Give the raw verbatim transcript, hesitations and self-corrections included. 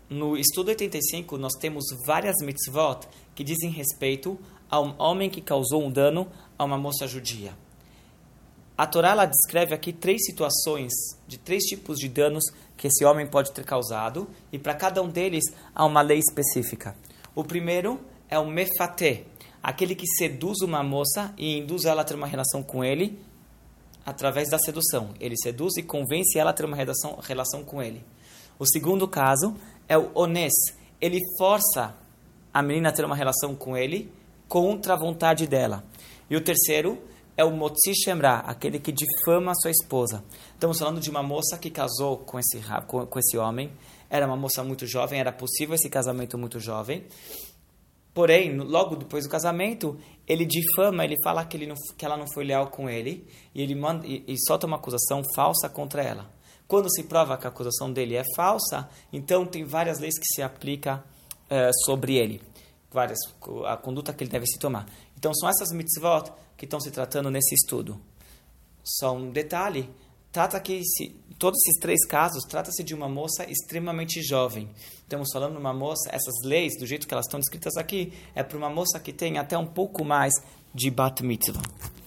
no estudo oitenta e cinco, nós temos várias mitzvot que dizem respeito a um homem que causou um dano a uma moça judia. A Torá ela descreve aqui três situações de três tipos de danos que esse homem pode ter causado, e para cada um deles há uma lei específica. O primeiro é o mefatê, aquele que seduz uma moça e induz ela a ter uma relação com ele através da sedução. Ele seduz e convence ela a ter uma relação, relação com ele. O segundo caso é o onés. Ele força a menina a ter uma relação com ele contra a vontade dela. E o terceiro é o motzi shemra, aquele que difama a sua esposa. Estamos falando de uma moça que casou com esse, com, com esse homem. Era uma moça muito jovem, era possível esse casamento muito jovem. Porém, logo depois do casamento, ele difama, ele fala que, ele não, que ela não foi leal com ele, e ele manda, e, e solta uma acusação falsa contra ela. Quando se prova que a acusação dele é falsa, então tem várias leis que se aplicam uh, sobre ele. Várias, a conduta que ele deve se tomar. Então, são essas mitzvot que estão se tratando nesse estudo. Só um detalhe, trata que se, todos esses três casos, trata-se de uma moça extremamente jovem. Estamos falando de uma moça, essas leis, do jeito que elas estão descritas aqui, é para uma moça que tem até um pouco mais de bat mitzvah.